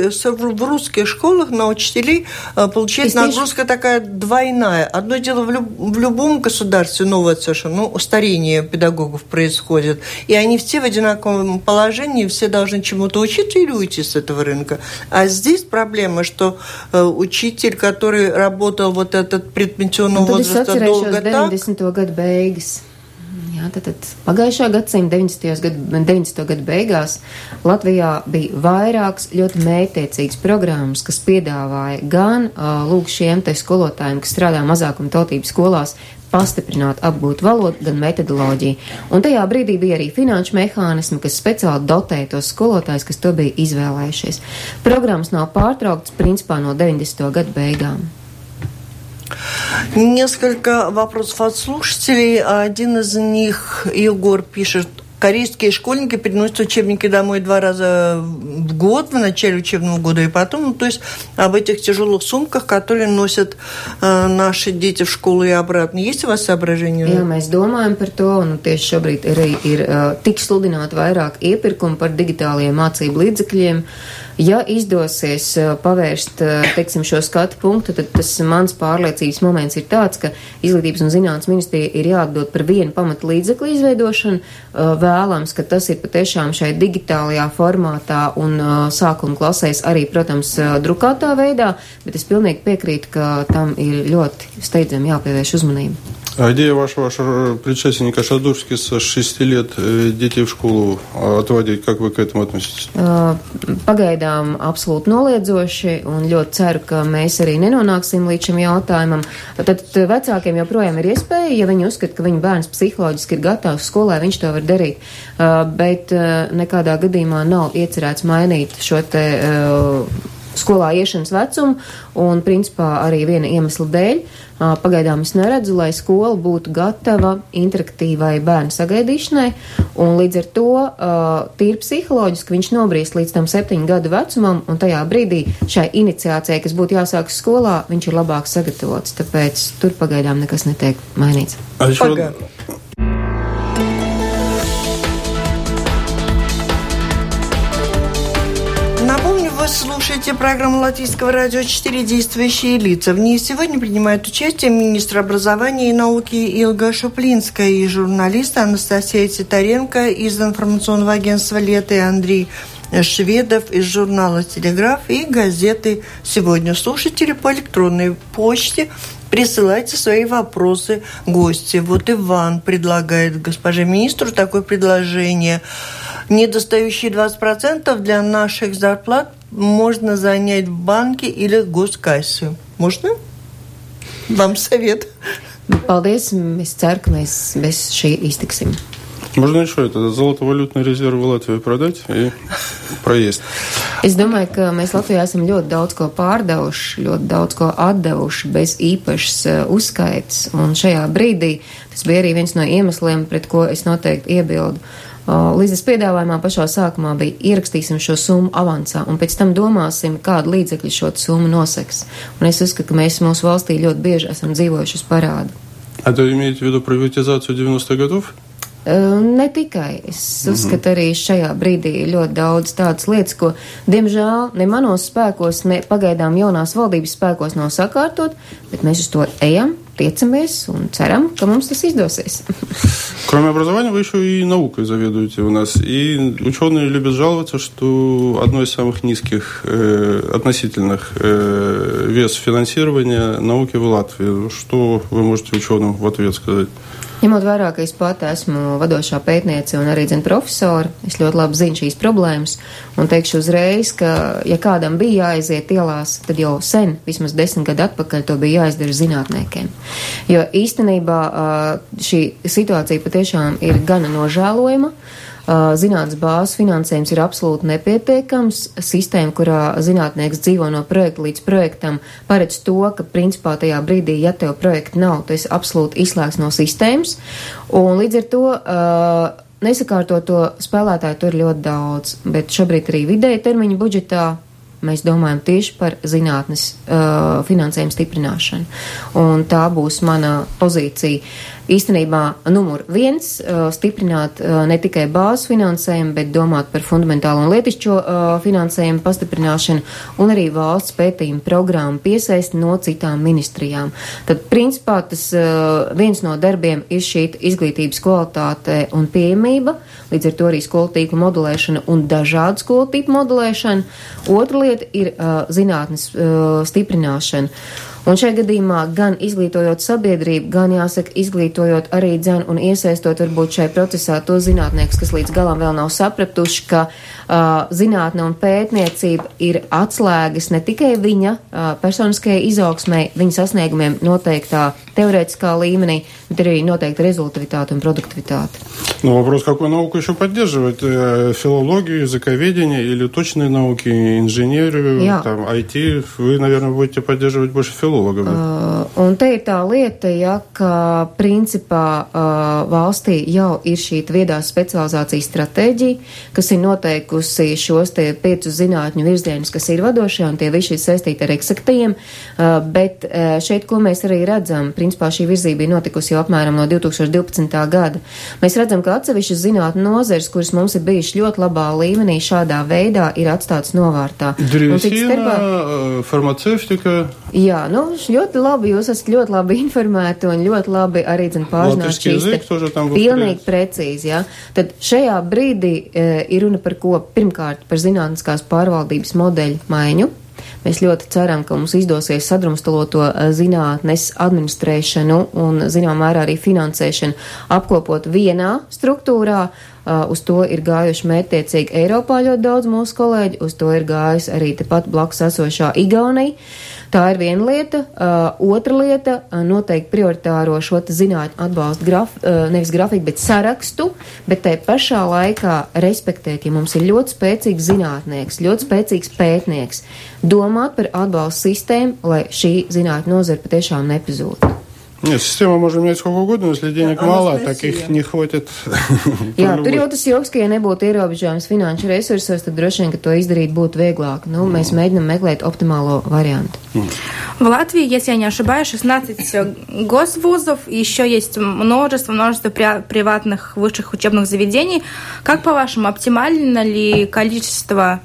в русских школах на учителей получается нагрузка такая двойная. Одно дело в, люб, в любом государстве новое совершенно, ну, старение педагогов происходит, и они все в одинаковом положении, все должны чему-то учиться или уйти с этого рынка. А здесь проблема, что учитель, который работал вот этот предпенсионного возраста долго так... Jā, tad, tad pagājušā gadsimta deviņdesmito gadu beigās Latvijā bija vairākas ļoti mērķtiecīgas programmas, kas piedāvāja gan uh, lūk šiem te skolotājiem, kas strādā mazākuma tautības skolās, pastiprināt, apgūt valodu, gan metodoloģiju. Un tajā brīdī bija arī finanšu mehānismi, kas speciāli dotēja tos skolotājus, kas to bija izvēlējušies. Programmas nav pārtrauktas principā no deviņdesmito gadu beigām. Несколько вопросов от слушателей. Один из них, Егор, пишет: корейские школьники приносят учебники домой два раза в год, в начале учебного года и потом. Ну, то есть об этих тяжелых сумках, которые носят э, наши дети в школу и обратно. Есть у вас соображения? Jā, mēs domājam par to, un tieši šobrīd arī ir uh, tik sludināti vairāk iepirkumi par digitālajiem mācību līdzekļiem. Ja izdosies uh, pavērst, uh, teiksim, šo skatu punktu, tad tas mans pārliecības moments ir tāds, ka Izglītības un zinātnes ministrija ir jāatdod par vienu pamatu līdzekļu izveidošanu. Uh, vēlams, ka tas ir patiešām šai digitālajā formātā un uh, sākuma klasēs arī, protams, uh, drukātā veidā, bet es pilnīgi piekrītu, ka tam ir ļoti steidzami jāpievērš uzmanība. А идея вашего, вашего предшественника Шадурски с шести лет детей в школу отводить, как вы к этому относитесь? Pagaidām absolūti noliedzoši un ļoti ceru, ka mēs arī nenonāksim līdz šim jautājumam. Tad vecākiem joprojām ir iespēja, ja viņi uzskata, ka viņa bērns psiholoģiski ir gatavs skolai, viņš to var darīt. Bet nekādā gadījumā nav iecerēts mainīt šo te skolā iešanas vecumu un principā arī viena iemesla dēļ. Pagaidām es neredzu, lai skola būtu gatava interaktīvai bērnu sagaidīšanai, un līdz ar to tīri psiholoģiski viņš nobrīst līdz tam septiņu gadu vecumam, un tajā brīdī šai iniciācijai, kas būtu jāsāk skolā, viņš ir labāk sagatavots, tāpēc tur pagaidām nekas netiek mainīts. Pagaidām. Напомню, вы слушаете программу Латвийского радио четыре «Действующие лица». В ней сегодня принимают участие министр образования и науки Илга Шуплинская и журналисты Анастасия Титаренко из информационного агентства «Лето» и Андрей Шведов из журнала «Телеграф» и газеты «Сегодня». Слушатели по электронной почте присылайте свои вопросы гости. Вот Иван предлагает госпоже министру такое предложение. Недостающие двадцать процентов для наших зарплат можно занять в банке или госкассе. Можно? Вам совет. Paldies. Es ceru, ka mēs bez šī iztiksim. Можно еще это золотовалютный резерв в Латвии продать и проесть. Es domāju, ka mēs Latvijā esam ļoti daudz ko pārdevuši, ļoti daudz ko atdevuši bez īpašas uzskaitas. Un šajā brīdī tas bija arī viens no iemesliem, pret ko es noteikti iebildu. Līdzes piedāvājumā pašā sākumā bija ierakstīsim šo summu avansā un pēc tam domāsim, kādu līdzekļu šo summu noseks. Un es uzskatu, ka mēs mūsu valstī ļoti bieži esam dzīvojuši uz parādu. А то имеете в виду приватизацию девяностых годов? Ne tikai. Es uzskatu, arī šajā brīdī ir ļoti daudz tādas lietas, ko, diemžēl, ne manos spēkos, ne pagaidām jaunās valdības spēkos nav sakārtot, bet mēs uz to ejam, tiecamies un ceram, ka mums tas izdosies. Кроме образования, вы еще и наукой заведуете у нас. И ученые любят жаловаться, что одно из самых низких э, относительных э, вес финансирования науки в Латвии. Что вы можете ученым в ответ сказать? Ņemot vērā, ka es pati esmu vadošā pētniece un arī zinu profesori, es ļoti labi zinu šīs problēmas un teikšu uzreiz, ka ja kādam bija jāaiziet ielās, tad jau sen, vismaz desmit gadu atpakaļ, to bija jāizdara zinātniekiem. Jo īstenībā šī situācija patiešām ir gana nožēlojama. Zinātnes bāzes finansējums ir absolūti nepietiekams. Sistēma, kurā zinātnieks dzīvo no projekta līdz projektam, paredz to, ka principā tajā brīdī, ja tev projekta nav, tu esi absolūti izslēgts no sistēmas. Un līdz ar to uh, nesakārtoto spēlētāju tur ir ļoti daudz, bet šobrīd arī vidēja termiņa budžetā mēs domājam tieši par zinātnes uh, finansējumu stiprināšanu. Un tā būs mana pozīcija. Īstenībā numur viens uh, stiprināt uh, ne tikai bāzes finansējumu, bet domāt par fundamentālo un lietišķo uh, finansējumu pastiprināšanu un arī valsts pētījumu programmu piesaisti no citām ministrijām. Tad, principā, tas uh, viens no darbiem ir šī izglītības kvalitāte un pieejamība, līdz ar to arī skolu tīklu modulēšana un dažādu skolu tipu modulēšana. Otra lieta ir uh, zinātnes uh, stiprināšana. Un šajā gadījumā gan izglītojot sabiedrību, gan jāsaka izglītojot arī dzen un iesaistot varbūt šai procesā to zinātniekus, kas līdz galam vēl nav sapratuši, ka uh, zinātne un pētniecība ir atslēgas ne tikai viņa uh, personiskajai izaugsmai, viņa sasniegumiem noteiktā теоретическā līmenī, bet arī noteikti результативиtāte un продуктивиtāte. Ну, вопрос, какую науку еще поддерживать? Филологию, языковедение или точные науки, инженерию, там, ай ти? Вы, наверное, будете поддерживать больше филологов. Uh, un te ir tā lieta, ja, ka principā uh, valstī jau ir šī viedās specializācijas stratēģija, kas ir noteikusi šos te piecus zinātņu virzienus, kas ir vadošie, un tie visi ir saistīti ar eksaktajiem, uh, bet uh, šeit, ko mēs arī redzam, principā šī virzība ir notikusi jau apmēram no divi tūkstoši divpadsmitā gada. Mēs redzam, ka atsevišķas zinātņu nozeres, kuras mums ir bijušas ļoti labā līmenī, šādā veidā ir atstātas novārtā. Drīzina, farmaceitika. Jā, nu, ļoti labi, jūs esat ļoti labi informēti un ļoti labi arī, zin, pārzināt šīs te pilnīgi precīzi, jā. Tad šajā brīdī e, ir runa par ko, pirmkārt, par zinātniskās pārvaldības modeļu maiņu. Mēs ļoti ceram, ka mums izdosies sadrumstaloto zinātnes administrēšanu un, zinām, mērā arī finansēšanu apkopot vienā struktūrā. Uh, uz to ir gājuši mērķtiecīgi Eiropā ļoti daudz mūsu kolēģi, uz to ir gājusi arī tepat blakus esošā Igaunija. Tā ir viena lieta. Uh, otra lieta uh, - noteikti prioritāro šo zinātņu atbalstu graf, uh, nevis grafiku, bet sarakstu, bet tai pašā laikā respektēt, ja mums ir ļoti spēcīgs zinātnieks, ļoti spēcīgs pētnieks, domāt par atbalstu sistēmu, lai šī zinātņu nozara patiešām nepazūtu. Нет, система можно менять сколько угодно, но если денег мало, так их не хватит. Jā, tur jau tas joks, ka ja nebūtu ierobežojums finanšu resursos, tad droši vien, ka to изdarīt būtu vieglāk. Ну, mēs mēģinām meklēt оптимālo вариант. В Латвии, если я не ошибаюсь, шестнадцать госвузов, и еще есть множество, множество приватных высших учебных заведений. Как, по-вашему, оптимально ли количество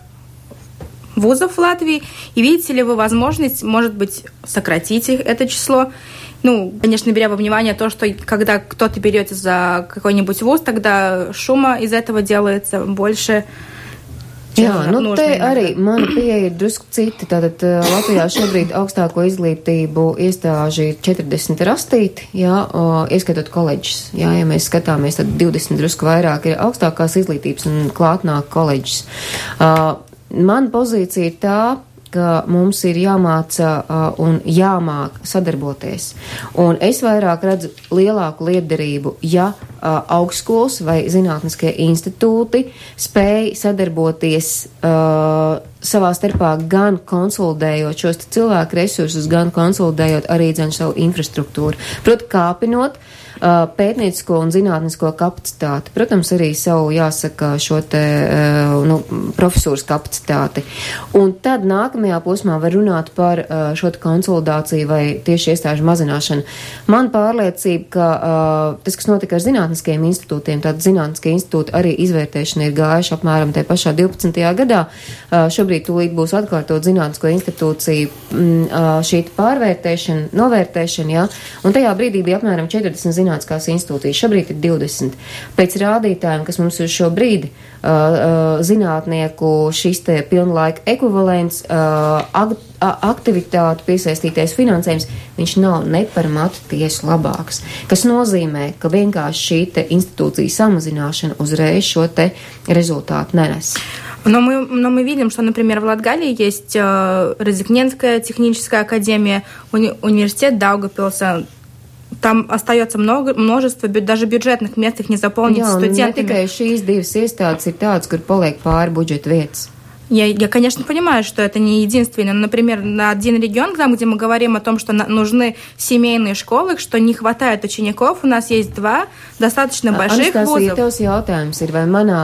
вузов в Латвии? И видите ли вы возможность, может быть, сократить это число? Ну, конечно, беря во внимание то, что когда кто-то берется за какой-нибудь вуз, тогда шума из этого делается больше. Jā, nu te arī mana pieeja ir drusku cita. Tātad Latvijā šobrīd augstāko izglītību iestāži četrdesmit ir astīti, jā, ieskatot koledžas. Jā, ja mēs skatāmies, tad divdesmit drusku vairāk ir augstākās izglītības un klātnāk koledžas. Uh, man pozīcija ir tā, ka mums ir jāmāca uh, un jāmāk sadarboties. Un es vairāk redzu lielāku lietderību, ja uh, augstskolas vai zinātniskie institūti spēj sadarboties uh, savā starpā gan konsolidējot šos cilvēku resursus, gan konsolidējot arī dzen savu infrastruktūru. Proti, kāpinot uh, pētniecisko un zinātnisko kapacitāti. Protams, arī savu, jāsaka, šo te, uh, nu, profesūras kapacitāti. Un tad nākamajā posmā var runāt par uh, šo te konsolidāciju vai tieši iestāžu mazināšanu. Man pārliecība, ka uh, tas, kas notika ar zinātniskajiem institūtiem, tātad zinātniskie institūti arī izvērtēšana ir gājuši apmēram te pašā divpadsmitajā gadā. Uh, šobrīd tūlīt būs atkārtot zinātnisko institūciju m, šī pārvērtēšana, novērtēšana, jā, un tajā brīdī bija apmēram četrdesmit zinātniskās institūcijas, šobrīd ir divdesmit. Pēc rādītājiem, kas mums uz šo brīdi uh, zinātnieku šis te pilnlaika ekvivalents, uh, ag, aktivitātu piesaistītais finansējums, viņš nav ne par matu tiesu labāks, kas nozīmē, ka vienkārši šī te institūcija samazināšana uzreiz šo te rezultātu nenes. Но мы, но мы видим, что, например, в Латгалии есть э, Разыкненская техническая академия, уни, университет Даугавпилса. Там остается много, множество даже бюджетных мест, их не заполнить Jā, студентами. Jā, un ne tikai šīs divas iestādes ir tādas, kur paliek pāri budžeta vietas. Я, я, конечно, понимаю, что это не единственное. Но, например, на один регион, там, где мы говорим о том, что на, нужны семейные школы, что не хватает учеников, у нас есть два достаточно больших Анастасija, вузов. Tavs jautājums ir, vai manā,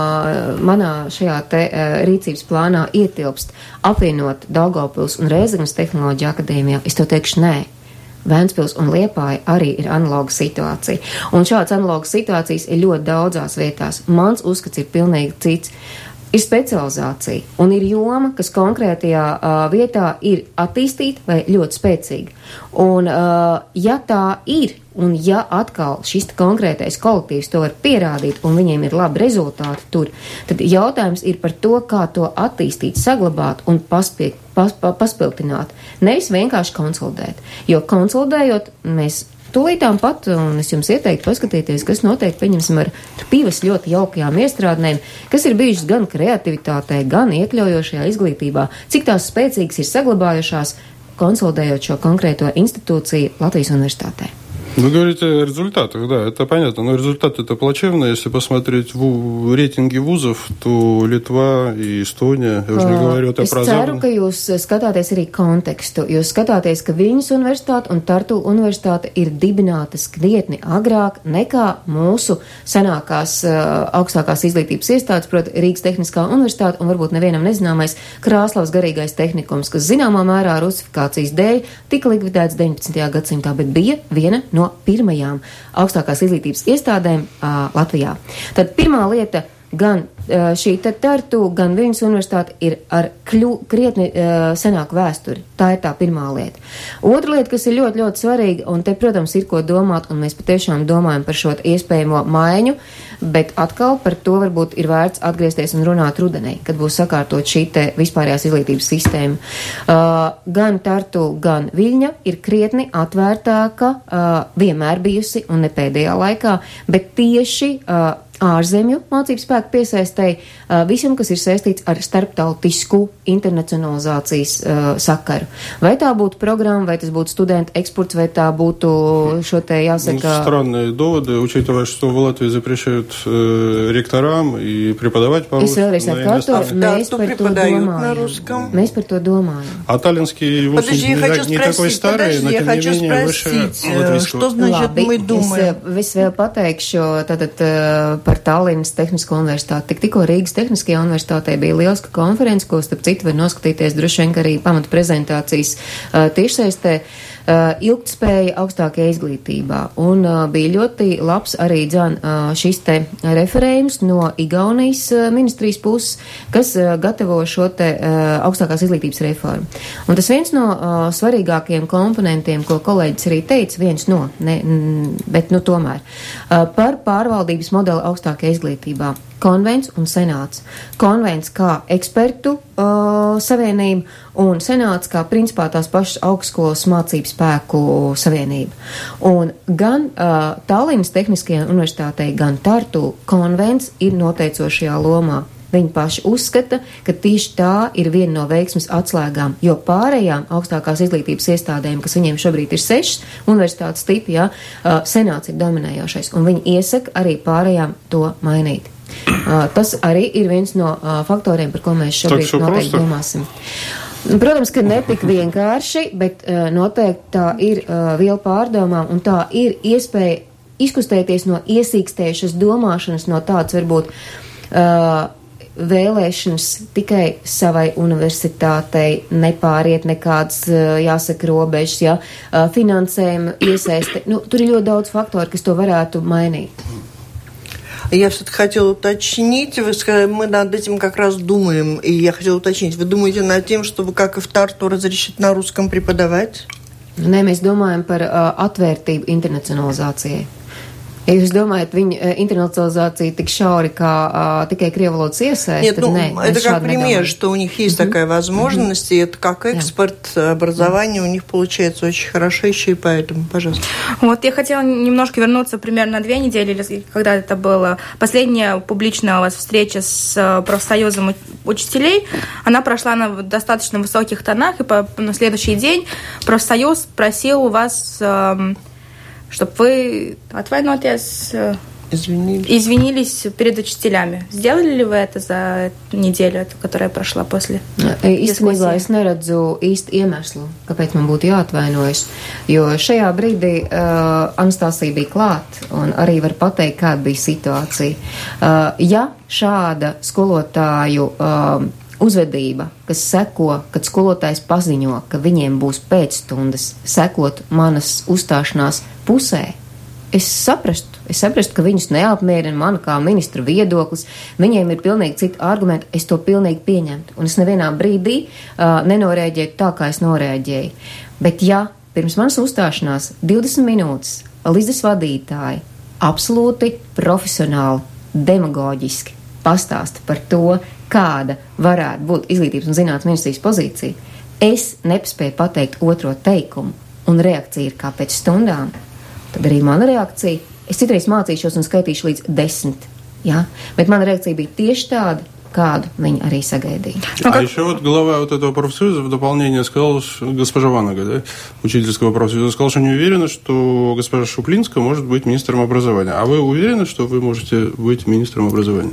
uh, manā šajā te uh, rīcības plānā ietilpst apvienot Daugavpils un Rēzeknes tehnoloģiju akadēmijā? Es to teikšu nē. Vēncpils un Liepāja arī ir analoga situācija. Un šāds analogas situācijas ir ļoti daudzās vietās. Mans uzskats ir pilnīgi cits. Ir specializācija un ir joma, kas konkrētajā uh, vietā ir attīstīta vai ļoti spēcīga. Un, uh, ja tā ir, un ja atkal šis konkrētais kolektīvs to var pierādīt un viņiem ir labi rezultāti tur, tad jautājums ir par to, kā to attīstīt, saglabāt un paspiek, pas, pa, paspiltināt. Nevis vienkārši konsolidēt. Jo konsolidējot, mēs tūlītām pat, un es jums ieteiktu paskatīties, kas notiek, pieņemsim, ar pīvas ļoti jaukajām iestrādnēm, kas ir bijušas gan kreativitātē, gan iekļaujošajā izglītībā, cik tās spēcīgas ir saglabājušās, konsolidējot šo konkrēto institūciju Latvijas universitātē. Вы говорите о результатах, да, это понятно, но результаты это плачевные. Если посмотреть в рейтинги вузов, то Литва и Эстония, я уже не говорю о Es ceru, ka jūs skatāties arī kontekstu. Jūs skatāties, ka Viļņas universitāte un Tartu universitāte ir dibinātas krietni agrāk nekā mūsu senākās uh, augstākās izglītības iestādes, proti Rīgas Tehniskā universitāte un varbūt nevienam nezināmais Krāslavas garīgais tehnikums, kas zināmā mērā rusifikācijas dēļ tika likvidēts deviņpadsmitajā gadsimtā, bet bija viena no pirmajām augstākās izglītības iestādēm uh, Latvijā. Tad pirmā lieta, gan uh, šī Tartu, gan Viļņas universitāte ir ar kļu, krietni uh, senāku vēsturi. Tā ir tā pirmā lieta. Otra lieta, kas ir ļoti, ļoti svarīga, un te, protams, ir ko domāt, un mēs patiešām domājam par šo iespējamo maiņu, bet atkal par to varbūt ir vērts atgriezties un runāt rudenī, kad būs sakārtot šī te vispārējās izglītības sistēma. Uh, gan Tartu, gan Viļņa ir krietni atvērtāka, uh, vienmēr bijusi un ne pēdējā laikā, bet tieši uh, ārzemju mācību spēku piesaistēji uh, visam, kas ir saistīts ar starptautisku internacionalizācijas uh, sakaru. Vai tā būtu programma, vai tas būtu studentu eksports, vai tā būtu šo te jāsaka... Странные доводы, учитывая, что в Латвии запрещают э, ректорам и преподавать по-русски. Es vēlreiz atkārtoju, mēs par to domājam. Mēs par to domājam. А таллинский вуз Подожди, я не, хочу не спросить, такой старый, подожди, но я тем хочу не менее выше спросить, латвийского. что значит Labi, мы думаем? Es, es vēl pateikšu tātad par Tallinas Tehnisko universitāti. Tik tikko Rīgas Tehniskajā universitātē bija lieliska konference, ko starp citu var noskatīties droši vien arī pamata prezentācijas uh, tiešsaistē, uh, ilgtspēja augstākajā izglītībā. Un uh, bija ļoti labs arī dzan uh, šis te referējums no Igaunijas uh, ministrijas puses, kas uh, gatavo šo te uh, augstākās izglītības reformu. Un tas viens no uh, svarīgākajiem komponentiem, ko kolēģis arī teica, viens no, ne, n, bet nu tomēr, uh, par pārvaldības modeli augstākajā izglītībā. Konvents un senāts. Konvents kā ekspertu uh, savienība un senāts kā principā tās pašas augstskolas mācību spēku savienība. Un gan uh, Tallinas Tehniskajā universitātei, gan Tartu konvents ir noteicošajā lomā. Viņi paši uzskata, ka tieši tā ir viena no veiksmes atslēgām, jo pārējām augstākās izglītības iestādēm, kas viņiem šobrīd ir sešas universitātes tipi, jā, senāts ir dominējošais, un viņi iesaka arī pārējām to mainīt. Tas arī ir viens no faktoriem, par ko mēs šobrīd noteikti domāsim. Protams, ka netik vienkārši, bet noteikti tā ir viela pārdomām, un tā ir iespēja izkustēties no iesīkstējušas domāšanas, no tāds varbūt uh, vēlēšanas tikai savai universitātei nepāriet nekāds, jāsaka, robežas, ja, finansējuma iesaiste. Nu, tur ir ļoti daudz faktoru, kas to varētu mainīt. Я все-таки хотела уточнить, вы сказали, мы над этим как раз думаем, и я хотела уточнить, вы думаете над тем, чтобы, как и в Тарту, разрешить на русском преподавать? Nē, mēs domājam par uh, atvērtību internacionalizācijai. Ja jūs думаете, viņa интернационализация tik šauri, kā uh, tikai криеволодцы iesaist, Нет, ну, не, это как пример, что у них есть mm-hmm. такая возможность, mm-hmm. и это как экспорт yeah. образования mm-hmm. у них получается очень хорошо еще и поэтому, пожалуйста. Вот я хотела немножко вернуться примерно на две недели, когда это была последняя публичная у вас встреча с профсоюзом учителей. Она прошла на достаточно высоких тонах, и по, на следующий день профсоюз просил у вас... Э, чтобы вы отвайнотесь, извинились. извинились перед учителями. Сделали ли вы это за неделю, которая прошла после Īstenībā es neredzu īsti iemeslu, kāpēc man būtu jāatvainojas, jo šajā brīdī uh, Anastasija bija klāt un arī var pateikt, kāda bija situācija. Uh, ja šāda skolotāju uh, uzvedība, kas seko, kad skolotājs paziņo, ka viņiem būs pēcstundas, sekot manas uzstāšanās pusē, es saprastu, es saprastu, ka viņus neapmierina mana kā ministra viedoklis, viņiem ir pilnīgi citi argumenti, es to pilnīgi pieņemtu, un es nevienā brīdī uh, nenorēģēju tā, kā es norēģēju. Bet ja pirms manas uzstāšanās divdesmit minūtes Līdzes vadītāji absolūti profesionāli, demagoģiski pastāsta par to, kāda varētu būt izglītības un zinātnes ministrijas pozīcija, es nepaspēju pateikt otro teikumu, un reakcija ir kā pēc stundām, tad arī mana reakcija, es citreiz mācīšos un skaitīšu līdz desmit, ja? Bet mana reakcija bija tieši tāda, kādu viņi arī sagaidīja. А как... еще вот глава вот этого профсоюза в дополнение сказал, госпожа Ванага, да, учительского профсоюза, сказал, что не уверена, что госпожа Шуплинская может быть министром образования. А вы уверены, что вы можете быть министром образования?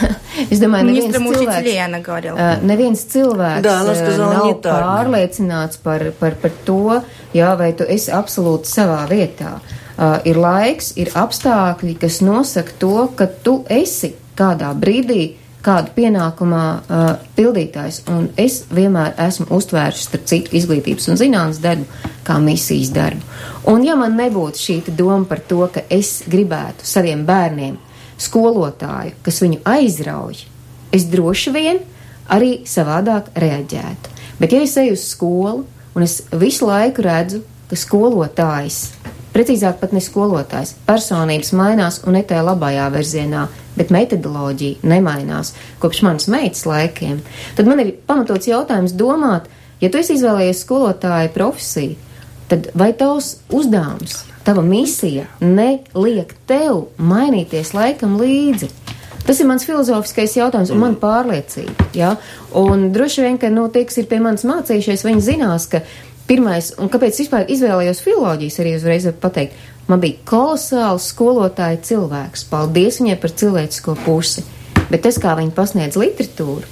Es domāju, neviens Ministram cilvēks, учителей, она говорила. uh, neviens cilvēks да, она сказала, nav не так. pārliecināts par, par, par to, jā, vai tu esi absolūti savā vietā. Uh, ir laiks, ir apstākļi, kas nosaka to, ka tu esi kādā brīdī kādu pienākumā uh, pildītājs, un es vienmēr esmu uztvērusi starp citu izglītības un zinātnes darbu kā misijas darbu. Un ja man nebūtu šī doma par to, ka es gribētu saviem bērniem skolotāju, kas viņu aizrauj, es droši vien arī savādāk reaģētu. Bet ja es eju uz skolu, un es visu laiku redzu, ka skolotājs, precīzāk pat ne skolotājs, personības mainās un ne tajā labajā virzienā, bet metodoloģija nemainās kopš manas meitas laikiem, tad man ir pamatots jautājums domāt, ja tu esi izvēlējies skolotāja profesiju, tad vai tavs uzdevums, tava misija neliek tev mainīties laikam līdzi? Tas ir mans filozofiskais jautājums un man pārliecība, ja? Un droši vien, ka, nu, tie, kas ir pie manis mācījušies, viņi zinās, ka pirmais, un kāpēc vispār izvēlējos filoloģijas, arī uzreiz var pateikt, man bija kolosāls skolotāja cilvēks. Paldies viņai par cilvēcisko pusi. Bet tas, kā viņi pasniedz literatūru,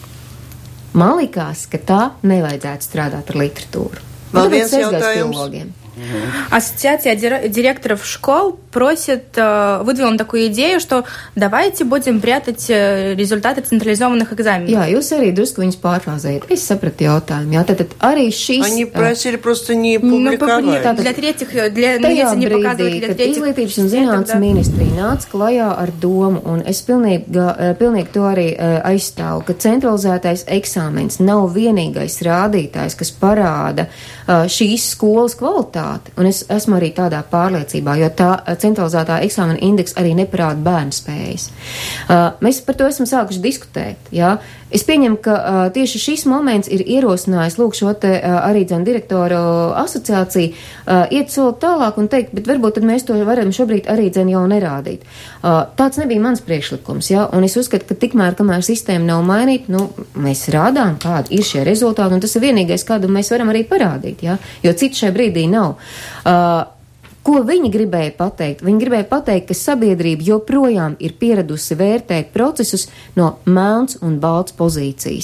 man likās, ka tā nevajadzētu strādāt ar literatūru. Vēl viens jautājums. Ассоциация директоров школ просит, выдвинула такую идею, что давайте будем прятать результаты централизованных экзаменов. Jā, jūs arī drusku viņus pārfrāzējat. Es sapratu jautājumu. Jā, tad arī šīs... Они просили просто не публиковать. Ну, tātad, для третьих, для, tajā не brīdī, kad izglītības un zinātnes ministrija nāca klajā ar domu, un es pilnīgi, pilnīgi to arī aizstāvu, ka centralizētais eksāmens nav vienīgais rādītājs, kas parāda šīs skolas kvalitāti. kvalitāti. Un es esmu arī tādā pārliecībā, jo tā centralizētā eksāmena indeks arī neparāda bērnu spējas. Uh, mēs par to esam sākuši diskutēt, jā. Es pieņemu, ka uh, tieši šis moments ir ierosinājis, lūk, šo te uh, arī dzēn direktoru asociāciju uh, iet soli tālāk un teikt, bet varbūt tad mēs to varam šobrīd arī dzēn jau nerādīt. Uh, tāds nebija mans priekšlikums, jā, un es uzskatu, ka tikmēr, kamēr sistēma nav mainīta, nu, mēs rādām, kādi ir šie rezultāti, un tas ir vienīgais, kādu mēs varam arī parādīt, jā, jo citu šai brīdī nav. Uh, Ko viņi gribēja pateikt? Viņi gribēja pateikt, ka sabiedrība joprojām ir pieradusi vērtēt procesus no melns un balts pozīcijas.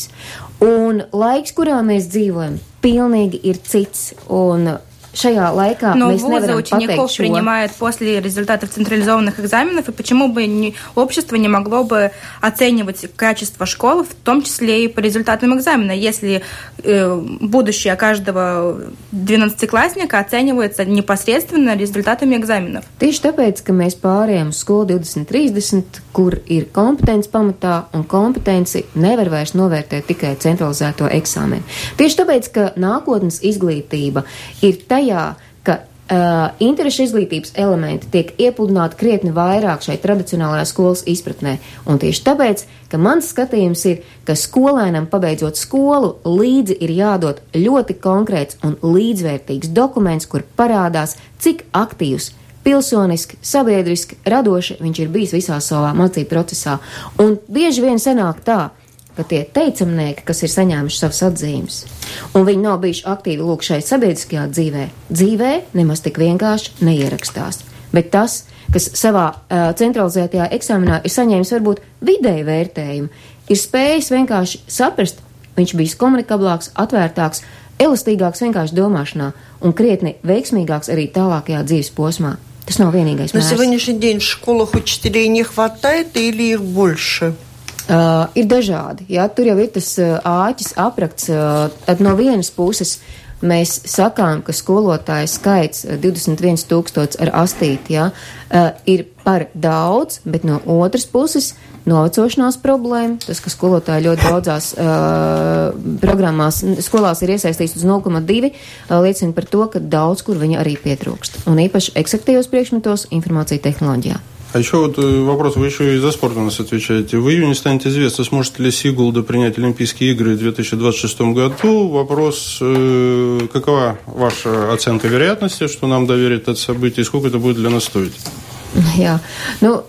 Un laiks, kurā mēs dzīvojam, pilnīgi ir cits. Un шая лайка. Но вузы учеников принимают после результатов централизованных экзаменов, и почему бы не, общество не могло бы оценивать качество школы, в том числе и по результатам экзамена, если э, будущее каждого двенадцатиклассника оценивается непосредственно результатами экзаменов. Tieši tāpēc, ka mēs pārējām uz skolu divdesmit trīsdesmit, kur ir kompetence pamatā, un kompetenci nevar vairs novērtēt tikai centralizēto eksāmenu. Tieši tāpēc, ka nākotnes izglītība ir tajā, ka Uh, interešu izglītības elementi tiek iepludināti krietni vairāk šai tradicionālajā skolas izpratnē. Un tieši tāpēc, ka mans skatījums ir, ka skolēnam pabeidzot skolu līdzi ir jādod ļoti konkrēts un līdzvērtīgs dokuments, kur parādās, cik aktīvs, pilsoniski, sabiedriski, radoši viņš ir bijis visā savā mācību procesā. Un bieži vien sanāk tā, ka tie teicamnieki, kas ir saņēmuši savas atzīmes, un viņi nav bijuši aktīvi lūk šai sabiedriskajā dzīvē, dzīvē nemaz tik vienkārši neierakstās. Bet tas, kas savā uh, centralizētajā eksāmenā ir saņēmis varbūt vidēju vērtējumu, ir spējis vienkārši saprast, viņš bijis komunikablāks, atvērtāks, elastīgāks vienkārši domāšanā un krietni veiksmīgāks arī tālākajā dzīves posmā. Tas nav vienīgais mērs. На сегодняшний день в школах учителей не хватает или их больше? Uh, ir dažādi, jā, tur jau ir tas uh, āķis aprakts, uh, tad no vienas puses mēs sakām, ka skolotāju skaits uh, divdesmit viens tūkstots ar astīti, jā, uh, ir par daudz, bet no otras puses novecošanās problēma, tas, ka skolotāji ļoti daudzās uh, programmās, skolās ir iesaistīts uz nulle komats divi, uh, liecina par to, ka daudz kur viņa arī pietrūkst, un īpaši eksaktīvos priekšmetos informācija tehnoloģijā. А еще вот вопрос, вы еще и за спорт у нас отвечаете. В июне станет известно, сможет ли Сигулда принять Олимпийские игры в две тысячи двадцать шестом году. Вопрос, э, какова ваша оценка вероятности, что нам доверят это событие, и сколько это будет для нас стоить? Jā, nu,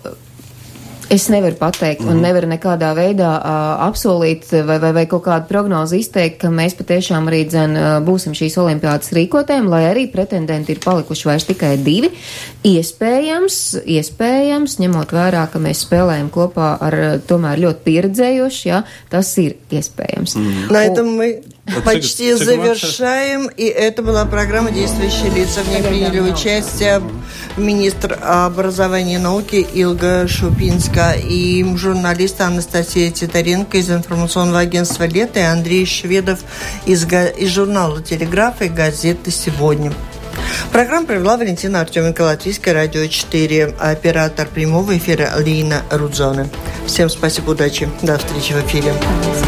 es nevaru pateikt un nevaru nekādā veidā uh, apsolīt vai, vai, vai kaut kādu prognozi izteikt, ka mēs patiešām arī dzen uh, būsim šīs olimpiādas rīkotēm, lai arī pretendenti ir palikuši vairs tikai divi. Iespējams, iespējams, ņemot vērā, ka mēs spēlējam kopā ar tomēr ļoti pieredzējoši, jā, tas ir iespējams. Mm. На этом мы почти завершаем, и это была программа «Действующие лица». В ней приняли участие министр образования и науки Илга Шупинска и журналисты Анастасия Титаренко из информационного агентства «Лето» и Андрей Шведов из, из журнала «Телеграф» и газеты «Сегодня». Программу провела Валентина Артеменко, Латвийское радио четыре, оператор прямого эфира Лина Рудзоне. Всем спасибо, удачи, до встречи в эфире.